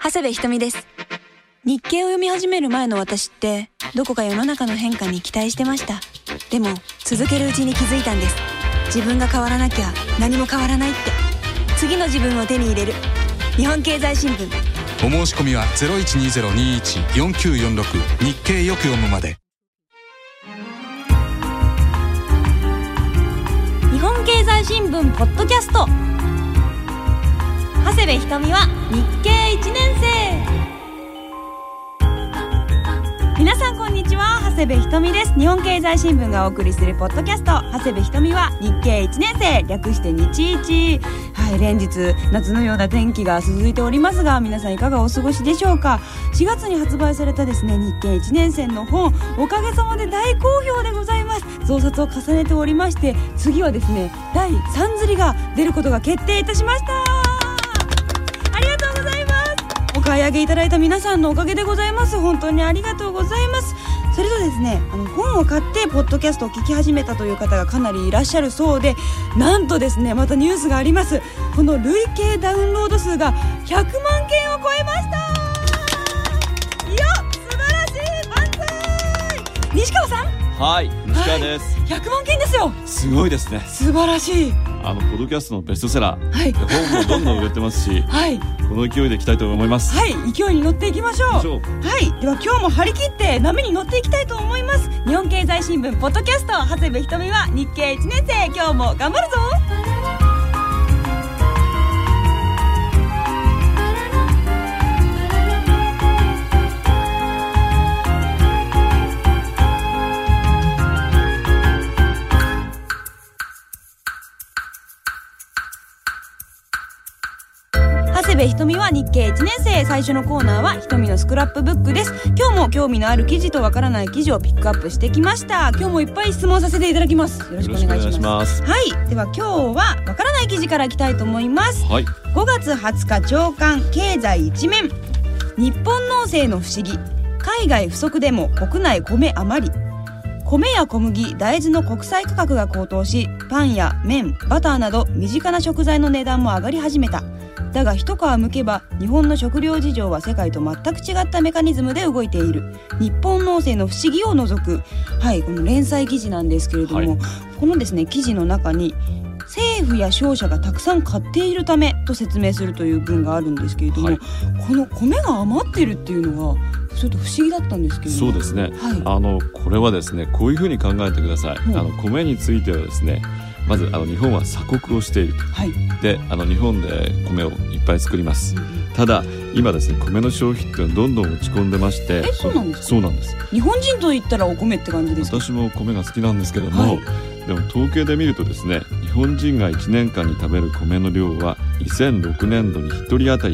長谷部ひとみです。日経を読み始める前の私ってどこか世の中の変化に期待してました。でも続けるうちに気づいたんです。自分が変わらなきゃ何も変わらないって。次の自分を手に入れる日本経済新聞。 お申し込みは 0120-21-4946 日経よく読むまで。 日本経済新聞ポッドキャスト。長谷部ひとみは日経1年生。皆さんこんにちは、長谷部ひとみです。日本経済新聞がお送りするポッドキャスト、長谷部ひとみは日経1年生、略して日一。はい、連日夏のような天気が続いておりますが、皆さんいかがお過ごしでしょうか。4月に発売されたですね、日経1年生の本、おかげさまで大好評でございます。増刷を重ねておりまして、次はですね、第3釣りが出ることが決定いたしました。ありがとうございます。お買い上げいただいた皆さんのおかげでございます。本当にありがとうございます。それとですね、本を買ってポッドキャストを聞き始めたという方がかなりいらっしゃるそうで、なんとですね、またニュースがあります。この累計ダウンロード数が100万件を超えました。いや、素晴らしい。万歳。西川さん。 はい、西川です。 100万件ですよ。 すごいですね。 素晴らしい。 ポッドキャストのベストセラー、 はい、 本もどんどん売れてますし、はい、この勢いでいきたいと思います。 はい、勢いに乗っていきましょう。はい、では今日も張り切って波に乗っていきたいと思います。日本経済新聞ポッドキャスト、長谷部ひとみは日経1年生。今日も頑張るぞ。長谷部ひとみは日経1年生。最初のコーナーはひとみのスクラップブックです。今日も興味のある記事とわからない記事をピックアップしてきました。今日もいっぱい質問させていただきます。よろしくお願いします。はい、では今日はわからない記事からいきたいと思います。はい、5月20日朝刊経済一面。日本農政の不思議、海外不足でも国内米余り。米や小麦、大豆の国際価格が高騰し、パンや麺、バターなど身近な食材の値段も上がり始めた。だが一皮むけば日本の食料事情は世界と全く違ったメカニズムで動いている。日本農政の不思議を除く。はい、この連載記事なんですけれども、はい、このですね、記事の中に政府や商社がたくさん買っているためと説明するという文があるんですけれども、はい、この米が余っているっていうのがちょっと不思議だったんですけれども。 そうですね、はい、これはですね、こういうふうに考えてください。米についてはですね、まず日本は鎖国をしている、はい、で日本で米をいっぱい作ります、ただ今ですね、米の消費っていうのはどんどん落ち込んでまして。 そうなんですか。 そうなんです。 日本人といったらお米って感じですか。 私も米が好きなんですけども、はい、でも統計で見るとですね、日本人が1年間に食べる米の量は2006年度に1人当たり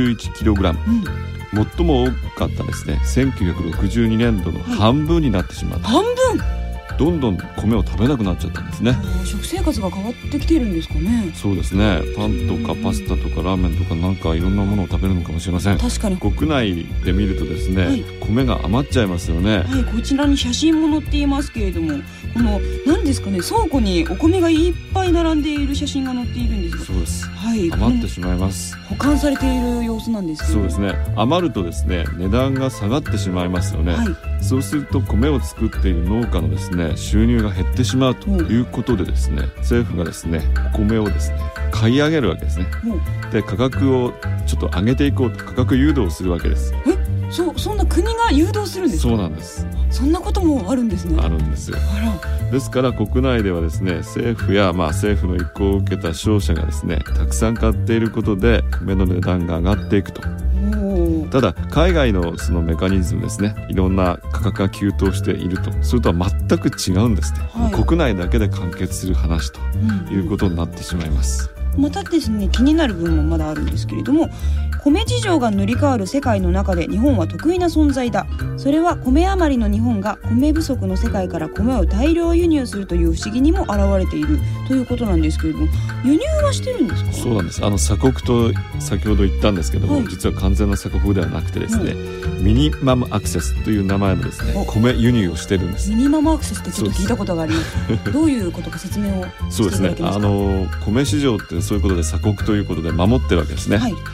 61kg、最も多かったですね、1962年度の半分になってしまった、 半分。 どんどん米を食べなくなっちゃったんですね。 食生活が変わってきているんですかね。 そうですね、パンとかパスタとかラーメンとかなんかいろんなものを食べるのかもしれません。 確かに国内で見るとですね、はい、米が余っちゃいますよね。 はい、こちらに写真も載っていますけれども、この何ですかね、倉庫にお米がいっぱい並んでいる写真が載っているんですが。 そうです、 はい、 余ってしまいます。 保管されている様子なんですけど。 そうですね、余るとですね、値段が下がってしまいますよね、はい、そうすると米を作っている農家のですね、収入が減ってしまうということでですね、政府がですね、お米をですね、買い上げるわけですね。で、価格をちょっと上げていこうと価格誘導するわけです。 そんな国が誘導するんですか。 そうなんです。 そんなこともあるんですね。 あるんですよ。ですから国内ではですね、政府や政府の意向を受けた商社がですね、たくさん買っていることで米の値段が上がっていくと。ただ海外のそのメカニズムですね、いろんな価格が急騰していると、それとは全く違うんですね、はい、国内だけで完結する話ということになってしまいます。 またですね、気になる部分もまだあるんですけれども、米事情が塗り替わる世界の中で日本は得意な存在だ。それは米余りの日本が米不足の世界から米を大量輸入するという不思議にも現れているということなんですけれども、輸入はしてるんですか。 そうなんです。鎖国と先ほど言ったんですけども、はい、実は完全な鎖国ではなくてですね、ミニマムアクセスという名前のですね、米輸入をしてるんです。 ミニマムアクセスってちょっと聞いたことがありますどういうことか説明をしていただけますか。 そうですね、米市場ってそういうことで鎖国ということで守ってるわけですね、はい、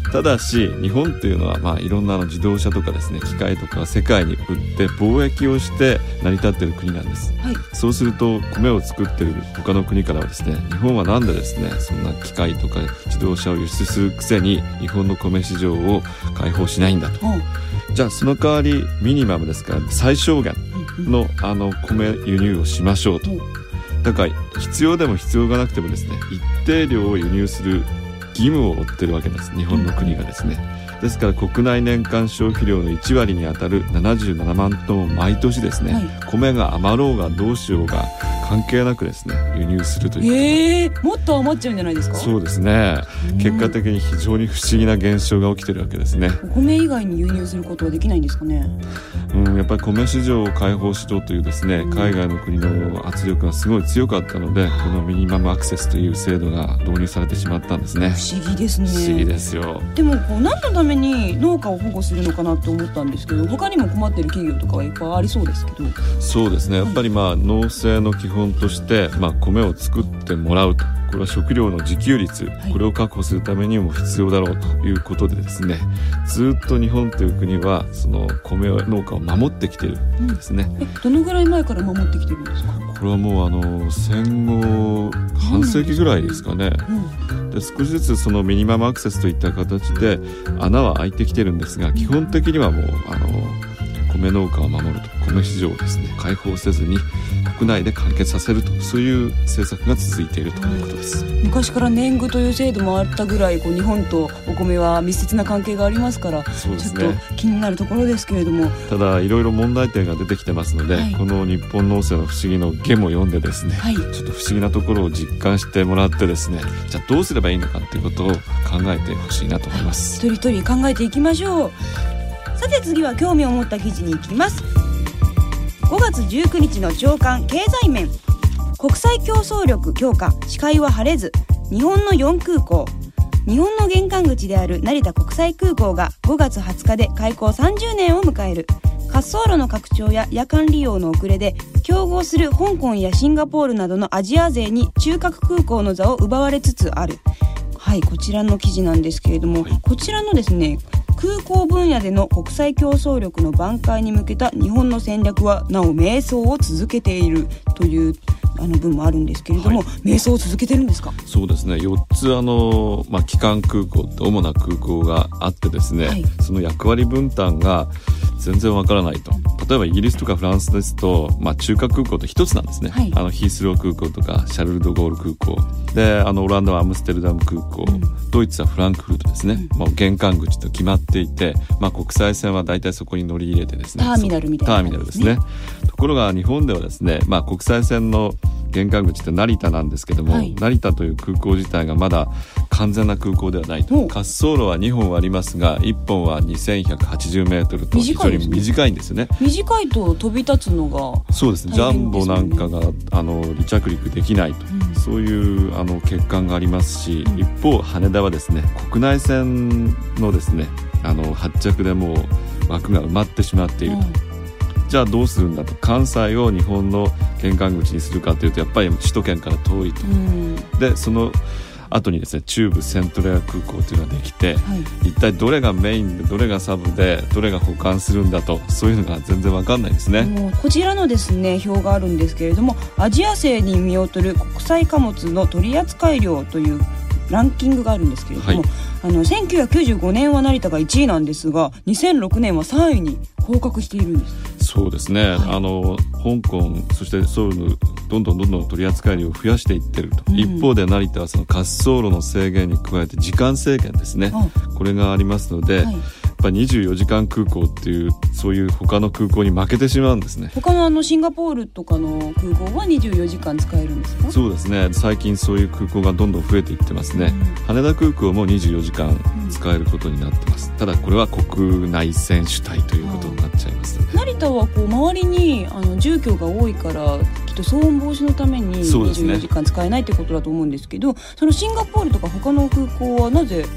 ただし日本っていうのは、いろんな自動車とかですね機械とか世界に売って貿易をして成り立っている国なんです、はい、そうすると米を作っている他の国からはですね日本はなんでですねそんな機械とか自動車を輸出するくせに日本の米市場を開放しないんだと、じゃあその代わりミニマムですから最小限の米輸入をしましょうと。だから必要でも必要がなくてもですね一定量を輸入する義務を負ってるわけです日本の国がですね、ですから国内年間消費量の1割にあたる77万トンを毎年ですね、米が余ろうがどうしようが関係なくですね輸入するという、 もっと余っちゃうんじゃないですか。 そうですね、結果的に非常に不思議な現象が起きてるわけですね。 お米以外に輸入することはできないんですかね。 やっぱり米市場を開放しろというですね海外の国の圧力がすごい強かったのでこのミニマムアクセスという制度が導入されてしまったんですね。 不思議ですね。 不思議ですよ。 でも何のために農家を保護するのかなって思ったんですけど他にも困ってる企業とかはいっぱいありそうですけど。 そうですね、やっぱり農政の基本として、米を作ってもらうと、これは食料の自給率、これを確保するためにも必要だろうということでですねずっと日本という国はその米農家を守ってきているんですね、 どのぐらい前から守ってきてるんですか。 これはもう戦後半世紀ぐらいですかね、で少しずつそのミニマムアクセスといった形で穴は開いてきてるんですが基本的にはもう米農家を守ると米市場をですね開放せずに国内で完結させるとそういう政策が続いているということです。 昔から年貢という制度もあったぐらい日本とお米は密接な関係がありますからそうですね、 ちょっと気になるところですけれどもただいろいろ問題点が出てきてますので、この日本農政の不思議の下も読んでですね、ちょっと不思議なところを実感してもらってですねじゃあどうすればいいのかということを考えてほしいなと思います。 一人一人考えていきましょう。さて次は興味を持った記事に行きます。5月19日の朝刊経済面、国際競争力強化、視界は晴れず、日本の4空港。日本の玄関口である成田国際空港が5月20日で開港30年を迎える。滑走路の拡張や夜間利用の遅れで競合する香港やシンガポールなどのアジア勢に中核空港の座を奪われつつある。こちらの記事なんですけれども、こちらのですね空港分野での国際競争力の挽回に向けた日本の戦略はなお迷走を続けているという文もあるんですけれども、迷走を続けてるんですか。 そうですね、4つ基幹空港って主な空港があってですね、その役割分担が全然わからないと。例えばイギリスとかフランスですと、中核空港と一つなんですね、ヒースロー空港とかシャルル・ド・ゴール空港で、オランダはアムステルダム空港、ドイツはフランクフルトですね、玄関口と決まっていて、国際線は大体そこに乗り入れてですね、 ターミナルみたいな、 ターミナルですね。ところが日本ではですね、国際線の玄関口って成田なんですけども、成田という空港自体がまだ完全な空港ではないと。滑走路は2本ありますが1本は2180メートルと非常に短いんですよね。 短いと飛び立つのがそうですね、ジャンボなんかが離着陸できないと、そういう欠陥がありますし、一方羽田はですね国内線のですね発着でもう枠が埋まってしまっていると、じゃあどうするんだと。関西を日本の玄関口にするかというとやっぱり首都圏から遠いと、でその後にですね中部セントレア空港というのができて、一体どれがメインでどれがサブでどれが補完するんだと、そういうのが全然わかんないですね。 こちらのですね表があるんですけれども、アジア勢に見劣る国際貨物の取扱量というランキングがあるんですけれども、1995年は成田が1位なんですが2006年は3位に降格しているんです。 そうですね、香港そしてソウルのどんどん取り扱い量を増やしていってると、一方で成田はその滑走路の制限に加えて時間制限ですね、これがありますので、やっぱり24時間空港っていうそういう他の空港に負けてしまうんですね。 他のシンガポールとかの空港は24時間使えるんですか。 そうですね、最近そういう空港がどんどん増えていってますね、羽田空港も24時間使えることになってます、ただこれは国内線主体ということになっちゃいます、 成田は周りに住居が多いからきっと騒音防止のために24時間使えないということだと思うんですけど、そのシンガポールとか他の空港はなぜ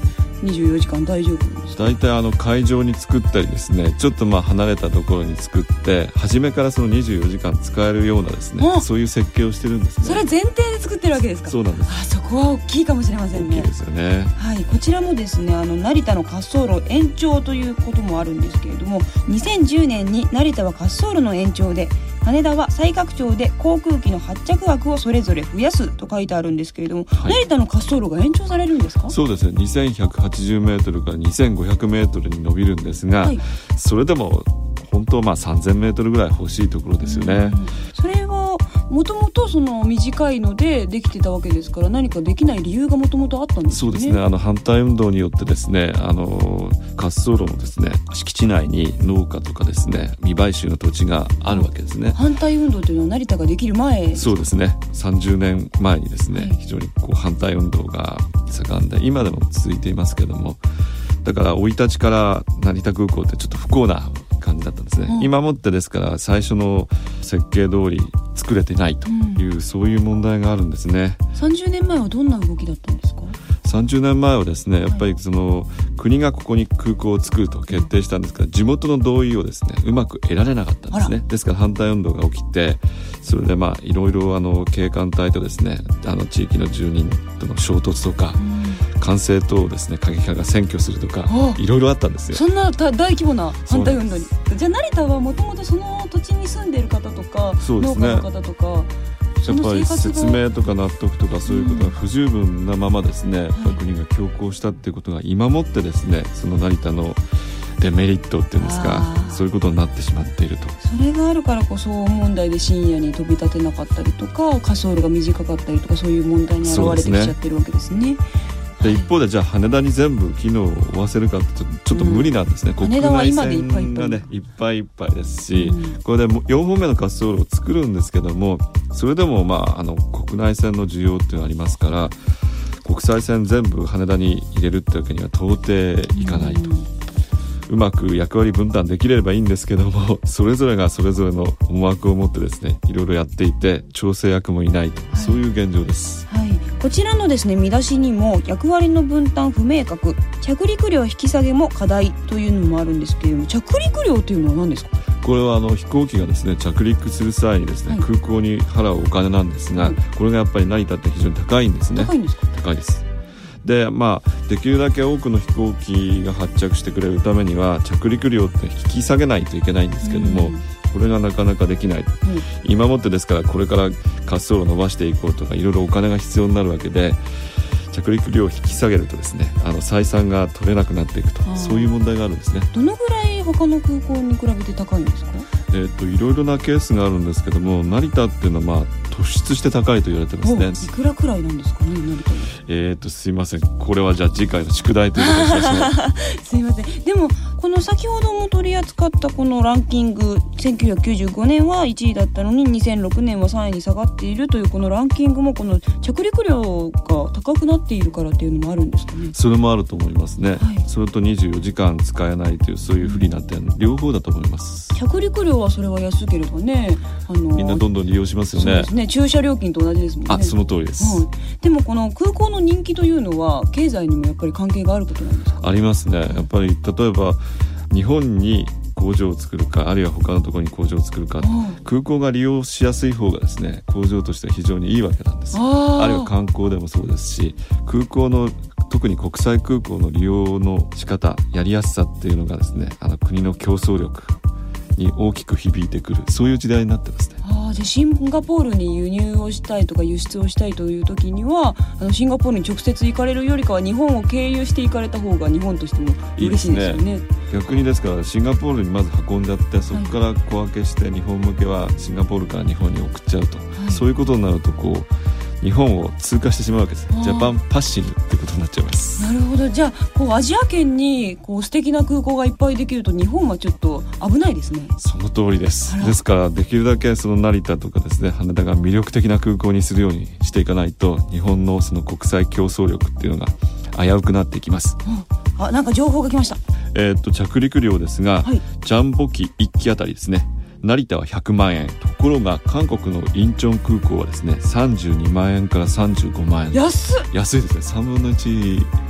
24時間大丈夫なんですか？ 大体会場に作ったりですね、ちょっと離れたところに作って初めからその24時間使えるようなですね、そういう設計をしてるんですね。 それ前提で作ってるわけですか？ そうなんです。 そこは大きいかもしれませんね。 大きいですよね。 はい、こちらもですね成田の滑走路延長ということもあるんですけれども、2010年に成田は滑走路の延長で、羽田は再拡張で航空機の発着枠をそれぞれ増やすと書いてあるんですけれども、はい、成田の滑走路が延長されるんですか？ そうですね、2180メートルから2500メートルに伸びるんですが、はい、それでも本当は3000メートルぐらい欲しいところですよね。 それはもともとその短いのでできてたわけですから、何かできない理由がもともとあったんですかね？ そうですね、反対運動によってですね、滑走路のですね敷地内に農家とかですね未買収の土地があるわけですね。 反対運動というのは成田ができる前？ そうですね、30年前にですね、はい、非常に反対運動が盛んで今でも続いていますけども、だから生い立ちから成田空港ってちょっと不幸な感じだったんですね、今もってですから最初の設計通り作れてないという、そういう問題があるんですね。 30年前はどんな動きだったんですか ？30年前はですね、やっぱり国がここに空港を作ると決定したんですが、地元の同意をですねうまく得られなかったんですね。ですから反対運動が起きて、それでいろいろ警官隊とですね地域の住人との衝突とか、管制塔をですね過激派が占拠するとか、いろいろあったんですよ。 そんな大規模な反対運動に。じゃあ成田はもともとその土地に住んでいる方とか、農家の方とか、 やっぱり説明とか納得とかそういうことが不十分なままですね、やっぱり国が強行したっていうことが今もってですね、その成田のデメリットっていうんですか、そういうことになってしまっていると。 それがあるからこそ問題で深夜に飛び立てなかったりとか、滑走路が短かったりとか、そういう問題に現れてきちゃってるわけですね。 で一方でじゃあ羽田に全部機能を負わせるかってちょっと無理なんですね、国内線がねいっぱいいっぱいですし、これで4本目の滑走路を作るんですけども、それでも国内線の需要っていうのがありますから、国際線全部羽田に入れるってわけには到底いかないと。うまく役割分担できればいいんですけども、それぞれがそれぞれの思惑を持ってですねいろいろやっていて、調整役もいないと、そういう現状です。 はい、こちらのですね見出しにも役割の分担不明確、着陸料引き下げも課題というのもあるんですけれども、着陸料というのは何ですか？ これは飛行機がですね着陸する際にですね、空港に払うお金なんですが、これがやっぱり成田って非常に高いんですね。 高いんですか？ 高いです。でできるだけ多くの飛行機が発着してくれるためには着陸料って引き下げないといけないんですけども、これがなかなかできない、今もってですからこれから滑走路を伸ばしていこうとかいろいろお金が必要になるわけで、着陸料を引き下げるとですね採算が取れなくなっていくと、そういう問題があるんですね。 どのぐらい他の空港に比べて高いんですか？ いろいろなケースがあるんですけども、成田っていうのは突出して高いと言われてますね。 いくらくらいなんですかね、成田は。 すいません、これはじゃあ次回の宿題ということにしましょう。 すいません。でもこの先ほども取り扱ったこのランキング、1995年は1位だったのに2006年は3位に下がっているというこのランキングも、この着陸料が高くなっているからっていうのもあるんですかね？ それもあると思いますね、それと24時間使えないというそういう不利な点、両方だと思います。 着陸料はそれは安ければね、 みんなどんどん利用しますよね。 そうですね、駐車料金と同じですもんね。 その通りです、 でもこの空港の人気というのは経済にもやっぱり関係があることなんですか？ ありますね。やっぱり例えば日本に工場を作るか、あるいは他のところに工場を作るか、空港が利用しやすい方がですね工場としては非常にいいわけなんです。あるいは観光でもそうですし、空港の特に国際空港の利用の仕方、やりやすさっていうのがですね国の競争力に大きく響いてくる、そういう時代になってますね。 じゃあシンガポールに輸入をしたいとか輸出をしたいという時にはシンガポールに直接行かれるよりかは日本を経由して行かれた方が日本としても嬉しいですよね。 逆にですからシンガポールにまず運んじゃって、そこから小分けして日本向けはシンガポールから日本に送っちゃうと、そういうことになると日本を通過してしまうわけです。ジャパンパッシングってことになっちゃいます。 なるほど。じゃあアジア圏に素敵な空港がいっぱいできると日本はちょっと危ないですね。 その通りです。ですからできるだけその成田とかですね羽田が魅力的な空港にするようにしていかないと、日本のその国際競争力っていうのが危うくなっていきます。 なんか情報が来ました。 着陸料ですが、ジャンボ機1機あたりですね、成田は100万円、ところが韓国のインチョン空港はですね32万円から35万円。安いですね。3分の1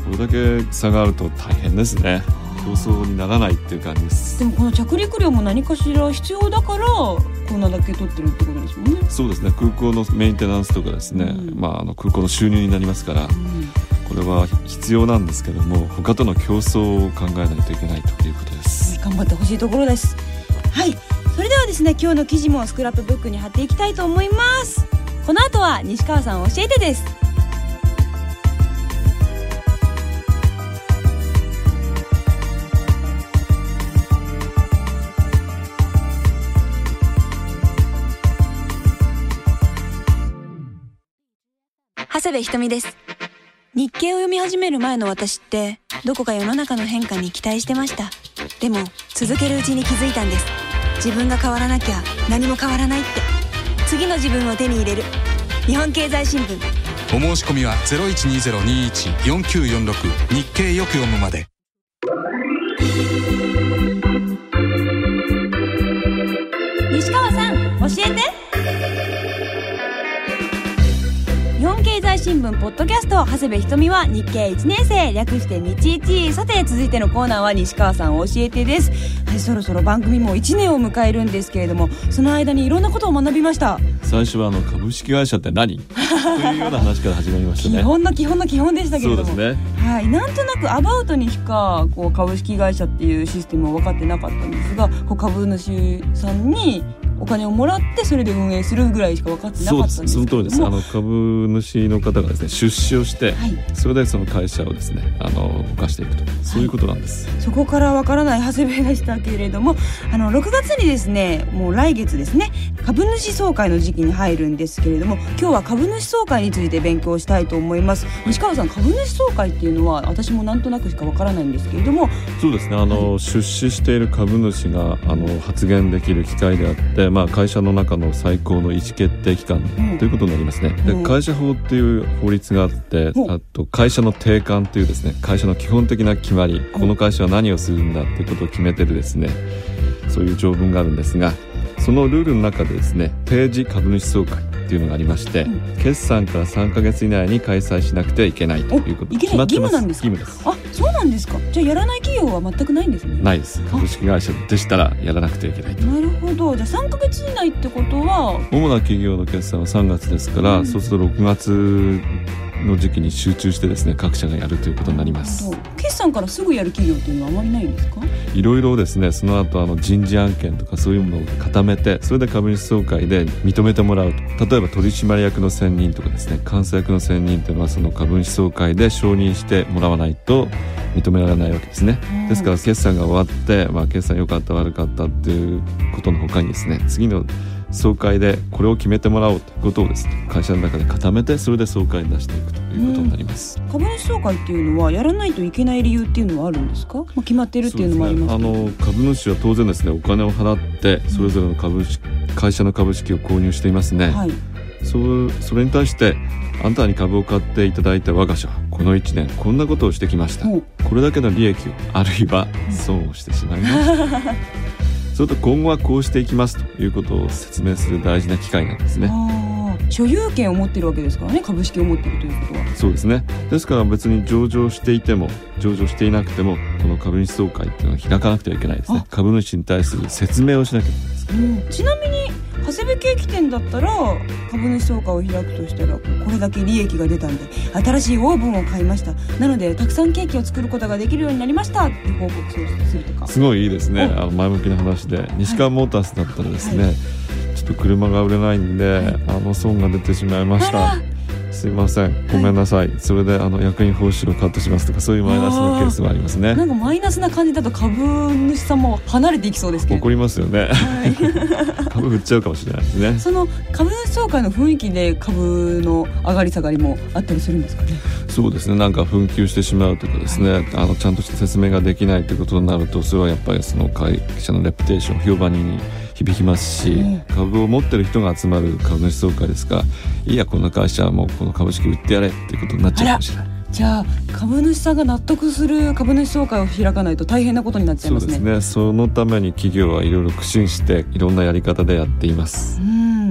これだけ差があると大変ですね。競争にならないっていう感じです。 でもこの着陸料も何かしら必要だからこんなだけ取ってるってことですもんね。 そうですね、空港のメンテナンスとかですね、空港の収入になりますから、これは必要なんですけども、他との競争を考えないといけないということです。 頑張ってほしいところです。はい、それではですね、今日の記事もスクラップブックに貼っていきたいと思います。この後は西川さん教えてです。長谷部ひとみです。日経を読み始める前の私ってどこか世の中の変化に期待してました。でも続けるうちに気づいたんです。自分が変わらなきゃ何も変わらないって。次の自分を手に入れる日本経済新聞。 お申し込みは 0120-21-4946 日経よく読むまで。 西川さん教えて。日本経済新聞ポッドキャスト、長谷部ひとみは日経1年生、略して日一。さて続いてのコーナーは西川さん教えてです。はい、そろそろ番組も1年を迎えるんですけれども、その間にいろんなことを学びました。 最初は株式会社って何というような話から始まりましたね。 基本の基本の基本でしたけれども、 そうですね、 はい、なんとなくアバウトにしか株式会社っていうシステムを分かってなかったんですが、株主さんにお金をもらってそれで運営するぐらいしか分かってなかったんですけども。 その通りです。株主の方がですね、出資をして、はい、それでその会社をですね動かしていくと、そういうことなんです、はい、 そこから分からない長谷部でしたけれども、6月にですね、もう来月ですね、株主総会の時期に入るんですけれども、今日は株主総会について勉強したいと思います。西川さん、株主総会っていうのは私もなんとなくしか分からないんですけれども。 そうですね、出資している株主が発言できる機会であって、会社の中の最高の意思決定機関ということになりますね。で、会社法っていう法律があって、あと会社の定款というですね、会社の基本的な決まり、この会社は何をするんだっていうことを決めてるですね、そういう条文があるんですが、そのルールの中でですね、定時株主総会っていうのがありまして、決算から3ヶ月以内に開催しなくてはいけないということ決まってます。 義務です。あ、そうなんですか。じゃあやらない企業は全くないんですね。 ないです。株式会社でしたらやらなくてはいけないと。 なるほど。じゃあ3ヶ月以内ってことは、 主な企業の決算は3月ですから、そうすると6月の時期に集中してですね、各社がやるということになります。 決算からすぐやる企業っていうのはあまりないんですか？ いろいろですね、その後人事案件とかそういうものを固めて、それで株主総会で認めてもらうと。例えば取締役の選任とかですね、監査役の選任というのはその株主総会で承認してもらわないと認められないわけですね。ですから決算が終わって、決算良かった悪かったっていうことの他にですね、次の総会でこれを決めてもらおうということをですね、会社の中で固めて、それで総会に出していくということになります。 株主総会っていうのはやらないといけない理由っていうのはあるんですか？決まっているっていうのもありますけど、 株主は当然ですね、お金を払ってそれぞれの会社の株式を購入していますね、はい、それに対して、あなたに株を買っていただいた我が社はこの1年こんなことをしてきました、これだけの利益をあるいは損をしてしまいましたそれと今後はこうしていきますということを説明する大事な機会なんですね。 所有権を持っているわけですからね、株式を持っているということは。 そうですね。ですから別に上場していても上場していなくても、この株主総会っていうのは開かなくてはいけないですね。株主に対する説明をしなきゃいけないです。 ちなみに長谷部ケーキ店だったら、株主総会を開くとしたら、これだけ利益が出たんで新しいオーブンを買いました、なのでたくさんケーキを作ることができるようになりましたって報告するとか。 すごいいいですね。前向きな話で、西川モータースだったらですね、ちょっと車が売れないんで、損が出てしまいました、すいません、ごめんなさい、それで役員報酬をカットしますとか、そういうマイナスのケースもありますね。 なんかマイナスな感じだと株主さんも離れていきそうですけど。 怒りますよね、株売っちゃうかもしれないですね。 その株主総会の雰囲気で株の上がり下がりもあったりするんですかね？ そうですね、なんか紛糾してしまうとかですね、ちゃんとした説明ができないということになると、それはやっぱりその会社のレプテーション、評判に響きますし、株を持ってる人が集まる株主総会ですから、いやこの会社はもうこの株式売ってやれっていうことになっちゃうかもしれない。 じゃあ株主さんが納得する株主総会を開かないと大変なことになっちゃいますね。 そうですね。そのために企業はいろいろ苦心していろんなやり方でやっています。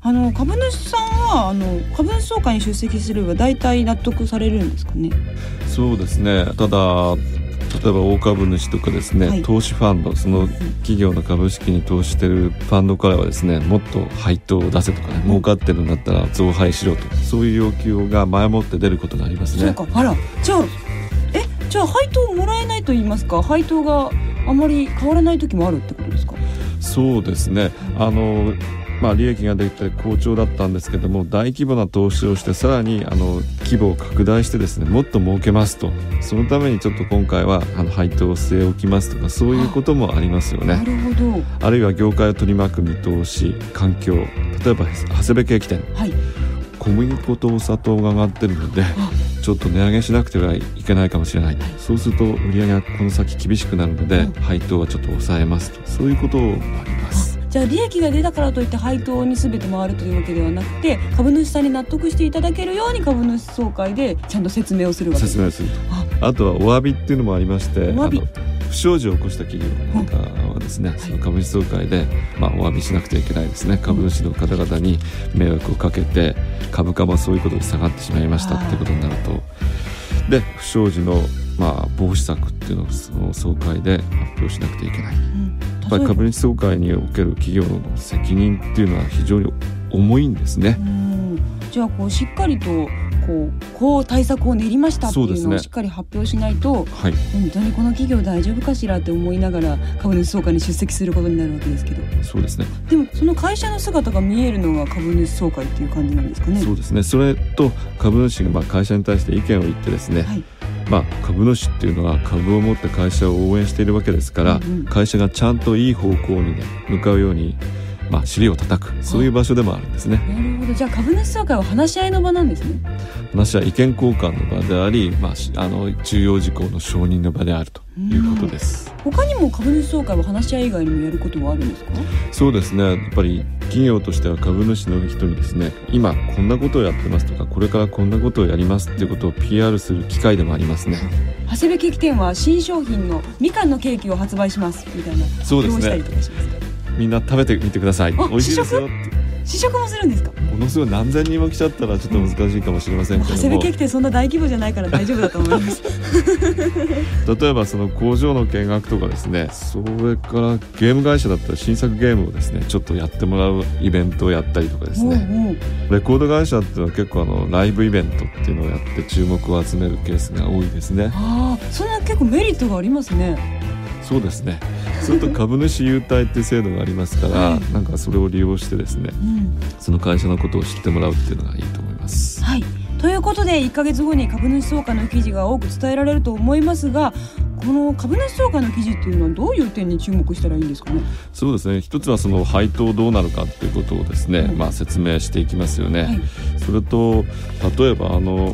株主さんは株主総会に出席すれば大体納得されるんですかね。 そうですね。ただ例えば大株主とかですね、はい、投資ファンド、その企業の株式に投資しているファンドからはですね、もっと配当を出せとかね、儲かってるんだったら増配しろと、そういう要求が前もって出ることがありますね。 そうか。あら、じゃあ配当もらえないと言いますか、配当があまり変わらない時もあるってことですか。 そうですね。利益が出て好調だったんですけども、大規模な投資をしてさらに規模を拡大してですね、もっと儲けますと、そのためにちょっと今回は配当を据え置きますとか、そういうこともありますよね。 なるほど。 あるいは業界を取り巻く見通し、環境、例えば長谷部ケーキ店、はい、小麦粉とお砂糖が上がってるのでちょっと値上げしなくてはいけないかもしれない、そうすると売り上げがこの先厳しくなるので、配当はちょっと抑えますと、そういうこともあります。 じゃあ利益が出たからといって配当に全て回るというわけではなくて、株主さんに納得していただけるように株主総会でちゃんと説明をするわけです。 説明すると。あとはお詫びっていうのもありまして、不祥事を起こした企業なんかはですね、その株主総会で、お詫びしなくてはいけないですね。株主の方々に迷惑をかけて株価もそういうことで下がってしまいましたっていうことになると、で不祥事の防止策っていうのをその総会で発表しなくてはいけない、やっぱり株主総会における企業の責任っていうのは非常に重いんですね。 じゃあしっかりとこう対策を練りましたっていうのをしっかり発表しないと、はい、本当にこの企業大丈夫かしらって思いながら株主総会に出席することになるわけですけど。 そうですね。 でもその会社の姿が見えるのが株主総会っていう感じなんですかね。 そうですね。それと株主が会社に対して意見を言ってですね、はい、株主っていうのは株を持って会社を応援しているわけですから、会社がちゃんといい方向に、向かうように尻を叩く、そういう場所でもあるんですね。 なるほど。じゃあ株主総会は話し合いの場なんですね。 話し合い、意見交換の場であり、重要事項の承認の場であるということです。 他にも株主総会は話し合い以外にもやることはあるんですか。 そうですね。やっぱり企業としては株主の人にですね、今こんなことをやってますとか、これからこんなことをやりますっていうことを PR する機会でもありますね。 長谷部ケーキ店は新商品のみかんのケーキを発売しますみたいな発表をしたりとかします。みんな食べてみてください。美味しいですよって。 試食もするんですか。 ものすごい何千人も来ちゃったらちょっと難しいかもしれませんけども、 長谷部ケーキ店そんな大規模じゃないから大丈夫だと思います例えばその工場の見学とかですね、それからゲーム会社だったら新作ゲームをですねちょっとやってもらうイベントをやったりとかですね、レコード会社っていうのは結構ライブイベントっていうのをやって注目を集めるケースが多いですね。 そんな結構メリットがありますね。 そうですね。それと株主優待っていう制度がありますから、なんかそれを利用してですね、その会社のことを知ってもらうっていうのがいいと思います。 はい。ということで1ヶ月後に株主総会の記事が多く伝えられると思いますが、この株主総会の記事っていうのはどういう点に注目したらいいんですかね。 そうですね。一つはその配当どうなるかっていうことをですね、説明していきますよね。それと例えば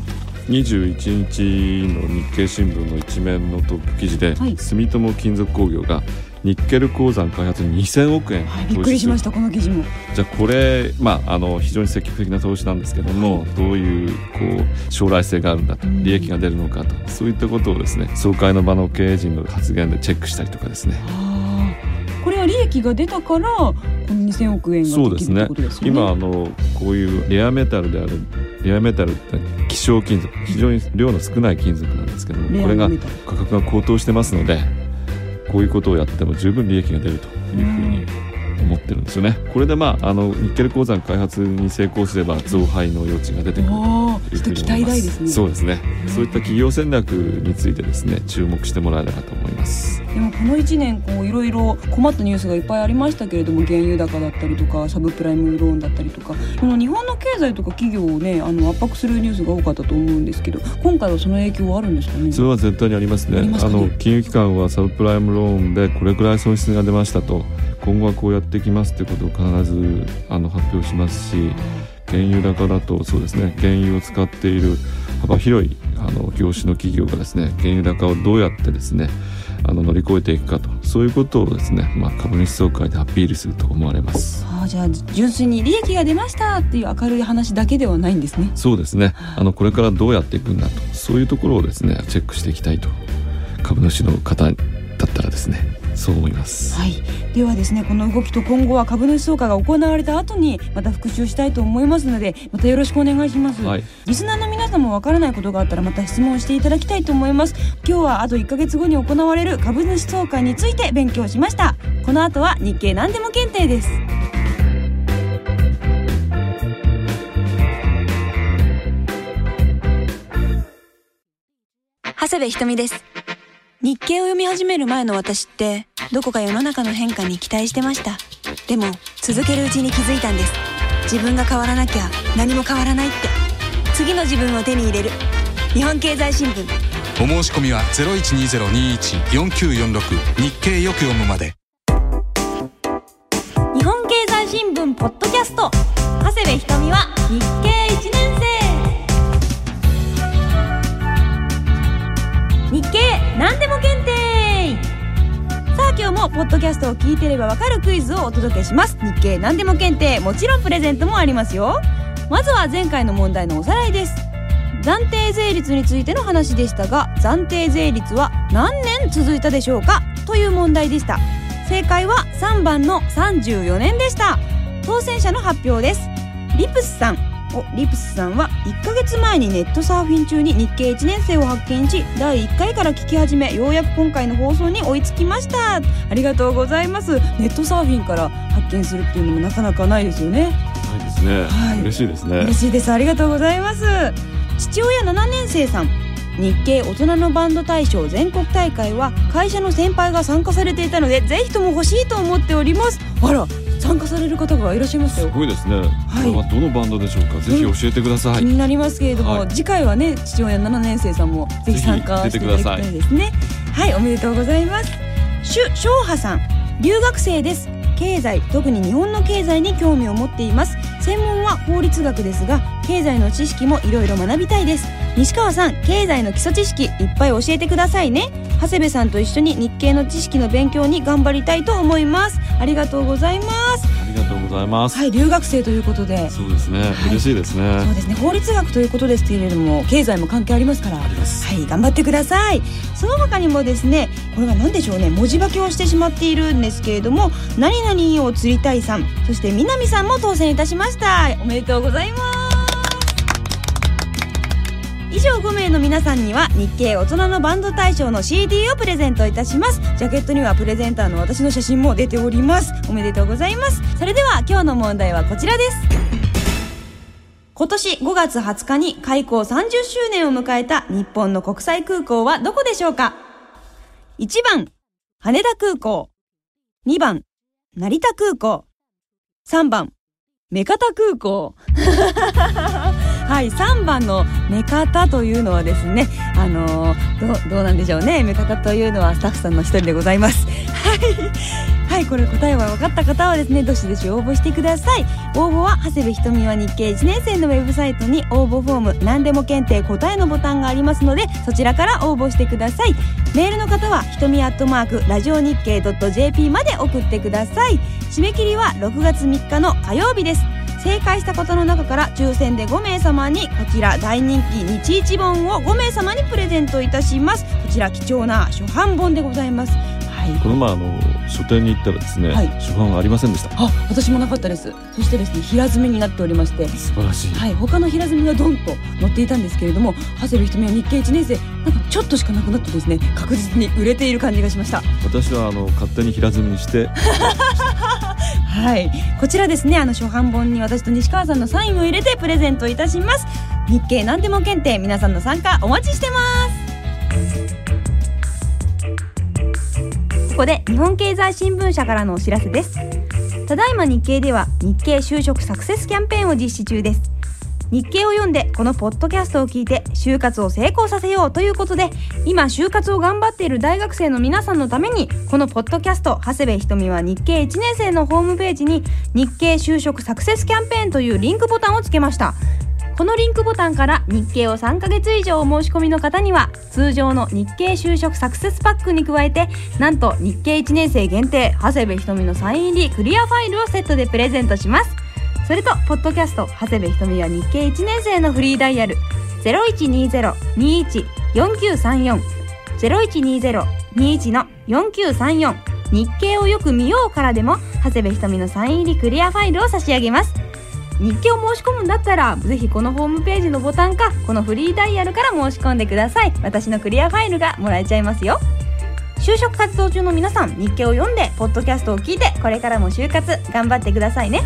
21日の日経新聞の一面のトップ記事で、住友金属工業がニッケル鉱山開発に2000億円投資する。 びっくりしました、この記事も。 じゃあこれ、非常に積極的な投資なんですけども、どういう将来性があるんだと、利益が出るのかと、そういったことをですね総会の場の経営陣の発言でチェックしたりとかですね。 これは利益が出たからこの2000億円ができるってことですよね。 今こういうレアメタルである、レアメタルって希少金属、非常に量の少ない金属なんですけども、これが価格が高騰してますので、こういうことをやっても十分利益が出るというふうに思ってるんですよね。これでニッケル鉱山開発に成功すれば増配の余地が出てくるというふうに思います。 ちょっと期待大ですね。 そうですね。そういった企業戦略についてですね注目してもらえればと思います。 でもこの1年いろいろ困ったニュースがいっぱいありましたけれども、原油高だったりとかサブプライムローンだったりとか、この日本の経済とか企業をね圧迫するニュースが多かったと思うんですけど、今回はその影響はあるんですかね。 それは絶対にありますね。金融機関はサブプライムローンでこれくらい損失が出ましたと、今後はこうやっていきますということを必ず発表しますし、原油高だとそうですね、原油を使っている幅広い業種の企業がですね、原油高をどうやってですね乗り越えていくかと、そういうことをですね、株主総会でアピールすると思われます。 じゃあ純粋に利益が出ましたっていう明るい話だけではないんですね。 そうですね。これからどうやっていくんだと、そういうところをですねチェックしていきたいと、株主の方だったらですねそう思います。 はい、ではですね、この動きと今後は株主総会が行われた後にまた復習したいと思いますので、またよろしくお願いします。はい、リスナーの皆さんもわからないことがあったらまた質問していただきたいと思います。今日はあと1ヶ月後に行われる株主総会について勉強しました。この後は日経何でも検定です。長谷部ひとみです。日経を読み始める前の私ってどこか世の中の変化に期待してました。でも続けるうちに気づいたんです。自分が変わらなきゃ何も変わらないって。次の自分を手に入れる日本経済新聞。 お申し込みは 0120-21-4946 日経よく読むまで。 日本経済新聞ポッドキャスト、長谷部ひとみは日経1年生。日経何でも検定。さあ今日もポッドキャストを聞いてればわかるクイズをお届けします。日経何でも検定、もちろんプレゼントもありますよ。まずは前回の問題のおさらいです。暫定税率についての話でしたが、暫定税率は何年続いたでしょうかという問題でした。正解は3番の34年でした。当選者の発表です。リプスさんは1ヶ月前にネットサーフィン中に日経1年生を発見し、第1回から聞き始め、ようやく今回の放送に追いつきました。ありがとうございます。ネットサーフィンから発見するっていうのもなかなかないですよね。 ないですね、はい、嬉しいですね。 嬉しいです。ありがとうございます。父親7年生さん、日経大人のバンド大賞全国大会は会社の先輩が参加されていたので、ぜひとも欲しいと思っております。あら、参加される方がいらっしゃいますよ。 すごいですね、はい、これはどのバンドでしょうか。ぜひ教えてください。気になりますけれども、はい、次回はね、父親7年生さんもぜひ参加していただきたいですね。はい、おめでとうございます。翔波さん、留学生です。経済、特に日本の経済に興味を持っています。専門は法律学ですが、経済の知識もいろいろ学びたいです。西川さん、経済の基礎知識いっぱい教えてくださいね。長谷部さんと一緒に日経の知識の勉強に頑張りたいと思います。ありがとうございます。 ありがとうございます。 はい、留学生ということで。 そうですね、はい、嬉しいですね。 そうですね、法律学ということですけれども、経済も関係ありますから。あります。はい、頑張ってください。その他にもですね、これは何でしょうね、文字化けをしてしまっているんですけれども、何々を釣りたいさん、そして南さんも当選いたしました。おめでとうございます。以上5名の皆さんには日経大人のバンド大賞の CD をプレゼントいたします。ジャケットにはプレゼンターの私の写真も出ております。おめでとうございます。それでは今日の問題はこちらです。今年5月20日に開港30周年を迎えた日本の国際空港はどこでしょうか。1番羽田空港、2番成田空港、3番目方空港はい、3番の目方というのはですね、どうなんでしょうね。目方というのはスタッフさんの一人でございます。はい、これ答えは分かった方はですね、どしどし応募してください。応募は長谷部ひとみは日経1年生のウェブサイトに応募フォーム何でも検定答えのボタンがありますので、そちらから応募してください。メールの方はひとみラジオ日経 .jp まで送ってください。締め切りは6月3日の火曜日です。正解した方の中から抽選で5名様にこちら大人気日一本を5名様にプレゼントいたします。こちら貴重な初版本でございます。はい、 この前書店に行ったらですね、はい、初版はありませんでした。 私もなかったです。そしてですね、平積みになっておりまして、 素晴らしい。 はい、他の平積みがドンと載っていたんですけれども、長谷部ひとみは日経1年生、なんかちょっとしかなくなってですね、確実に売れている感じがしました。 私は勝手に平積みにしてはい、こちらですね、初版本に私と西川さんのサインを入れてプレゼントいたします。日経何でも検定、皆さんの参加お待ちしてます。ここで日本経済新聞社からのお知らせです。ただいま日経では日経就職サクセスキャンペーンを実施中です。日経を読んでこのポッドキャストを聞いて就活を成功させようということで、今就活を頑張っている大学生の皆さんのために、このポッドキャスト長谷部ひとみは日経1年生のホームページに日経就職サクセスキャンペーンというリンクボタンをつけました。このリンクボタンから日経を3ヶ月以上お申し込みの方には、通常の日経就職サクセスパックに加えて、なんと日経1年生限定長谷部ひとみのサイン入りクリアファイルをセットでプレゼントします。それとポッドキャスト長谷部ひとみは日経1年生のフリーダイヤル 0120-21-4934 0120-21-4934 日経をよく見ようからでも長谷部ひとみのサイン入りクリアファイルを差し上げます。日経を申し込むんだったらぜひこのホームページのボタンかこのフリーダイヤルから申し込んでください。私のクリアファイルがもらえちゃいますよ。就職活動中の皆さん、日経を読んでポッドキャストを聞いてこれからも就活頑張ってくださいね。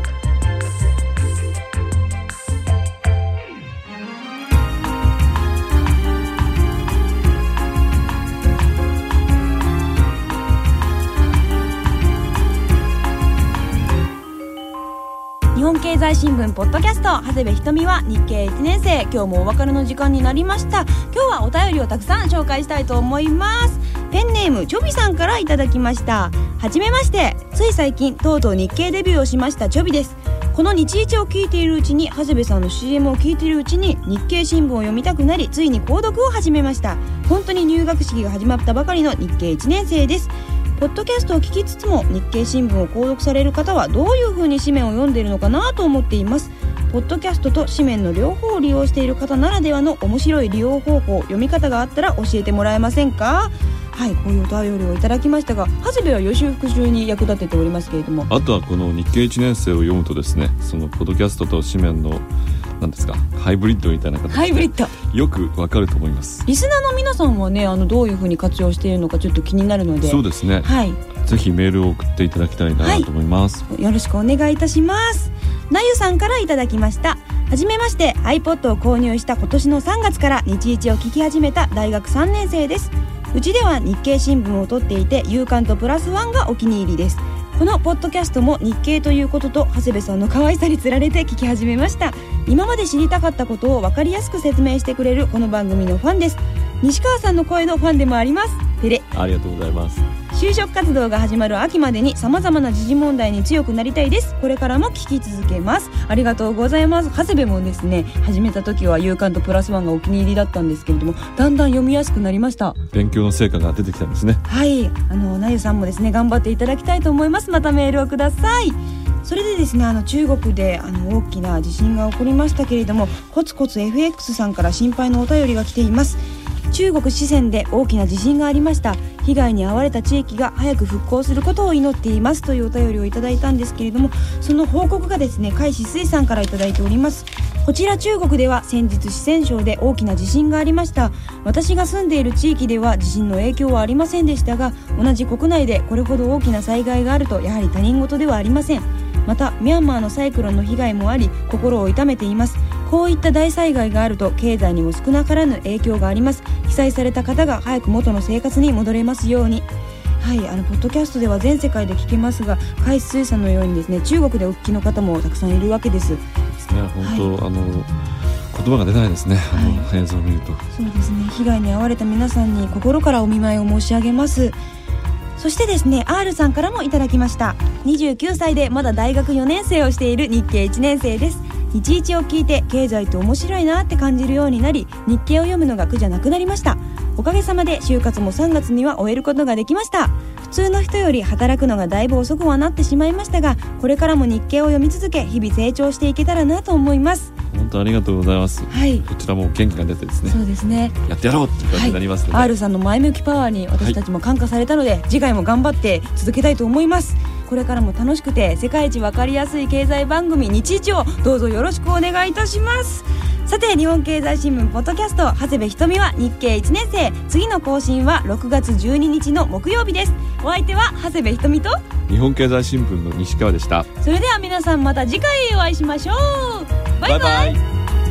日本経済新聞ポッドキャスト、長谷部ひとみは日経1年生。今日もお別れの時間になりました。今日はお便りをたくさん紹介したいと思います。ペンネームチョビさんからいただきました。はじめまして、つい最近とうとう日経デビューをしましたチョビです。この日一を聞いているうちに、長谷部さんの CM を聞いているうちに日経新聞を読みたくなり、ついに購読を始めました。本当に入学式が始まったばかりの日経1年生です。ポッドキャストを聞きつつも日経新聞を購読される方はどういう風に紙面を読んでいるのかなと思っています。ポッドキャストと紙面の両方を利用している方ならではの面白い利用方法、読み方があったら教えてもらえませんか。はい、こういうお便りをいただきましたが、長谷部は予習復習に役立てておりますけれども、 あとはこの日経1年生を読むとですね、そのポッドキャストと紙面の何ですか、ハイブリッドみたいな形でハイブリッドよくわかると思います。 リスナーの皆さんはね、どういう風に活用しているのかちょっと気になるので、 そうですね、 はい、 ぜひメールを送っていただきたいなと思います、 はい、よろしくお願いいたします。なゆさんからいただきました。はじめまして、 iPod を購入した今年の3月から日一を聞き始めた大学3年生です。うちでは日経新聞を取っていて、夕刊とプラスワンがお気に入りです。このポッドキャストも日経ということと長谷部さんの可愛さにつられて聞き始めました。今まで知りたかったことを分かりやすく説明してくれるこの番組のファンです。西川さんの声のファンでもあります。ペレ。 ありがとうございます。 就職活動が始まる秋までに様々な時事問題に強くなりたいです。これからも聞き続けます。ありがとうございます。長谷部もですね、始めた時は夕刊とプラスワンがお気に入りだったんですけれども、だんだん読みやすくなりました。 勉強の成果が出てきたんですね。 はい、なゆさんもですね、頑張っていただきたいと思います。またメールをください。それでですね、中国で大きな地震が起こりましたけれども、コツコツ FX さんから心配のお便りが来ています。中国四川で大きな地震がありました。被害に遭われた地域が早く復興することを祈っていますというお便りをいただいたんですけれども、その報告がですね、海志水さんからいただいております。こちら中国では先日四川省で大きな地震がありました。私が住んでいる地域では地震の影響はありませんでしたが、同じ国内でこれほど大きな災害があるとやはり他人事ではありません。またミャンマーのサイクロンの被害もあり、心を痛めています。こういった大災害があると経済にも少なからぬ影響があります。被災された方が早く元の生活に戻れますように。はい、ポッドキャストでは全世界で聞けますが、海水さんのようにですね、中国でお聞きの方もたくさんいるわけです。 ですね、本当、はい、言葉が出ないですね、はい、映像を見ると。 そうですね、被害に遭われた皆さんに心からお見舞いを申し上げます。そしてですね、 R さんからもいただきました。29歳でまだ大学4年生をしている日経1年生です。日一を聞いて経済って面白いなって感じるようになり、日経を読むのが苦じゃなくなりました。おかげさまで就活も3月には終えることができました。普通の人より働くのがだいぶ遅くはなってしまいましたが、これからも日経を読み続け、日々成長していけたらなと思います。 本当ありがとうございます、はい、こちらも元気が出てですね、 そうですね、 やってやろうっていう感じになりますので、 はい、R さんの前向きパワーに私たちも感化されたので、はい、次回も頑張って続けたいと思います。これからも楽しくて世界一わかりやすい経済番組日一をどうぞよろしくお願いいたします。さて、日本経済新聞ポッドキャスト、長谷部ひとみは日経1年生。次の更新は6月12日の木曜日です。お相手は長谷部ひとみと日本経済新聞の西川でした。 それでは皆さん、また次回お会いしましょう。バイバイ。 バイバイ。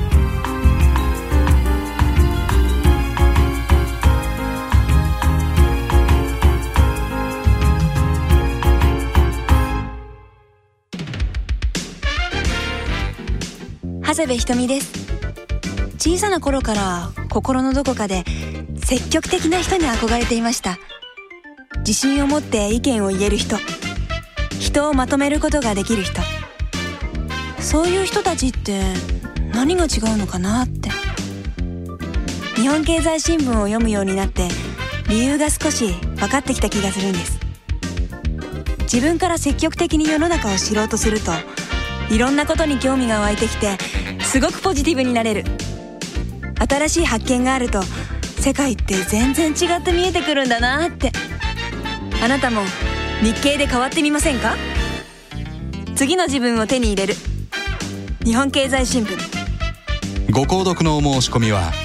長谷部ひとみです。小さな頃から心のどこかで積極的な人に憧れていました。自信を持って意見を言える人、人をまとめることができる人、そういう人たちって何が違うのかなって。日本経済新聞を読むようになって理由が少し分かってきた気がするんです。自分から積極的に世の中を知ろうとすると、いろんなことに興味が湧いてきて、すごくポジティブになれる。新しい発見があると世界って全然違って見えてくるんだなって。 あなたも日経で変わってみませんか？次の自分を手に入れる日本経済新聞。 ご購読のお申し込みは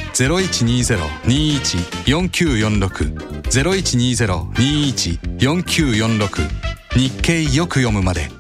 0120-21-4946 0120-21-4946 日経よく読むまで。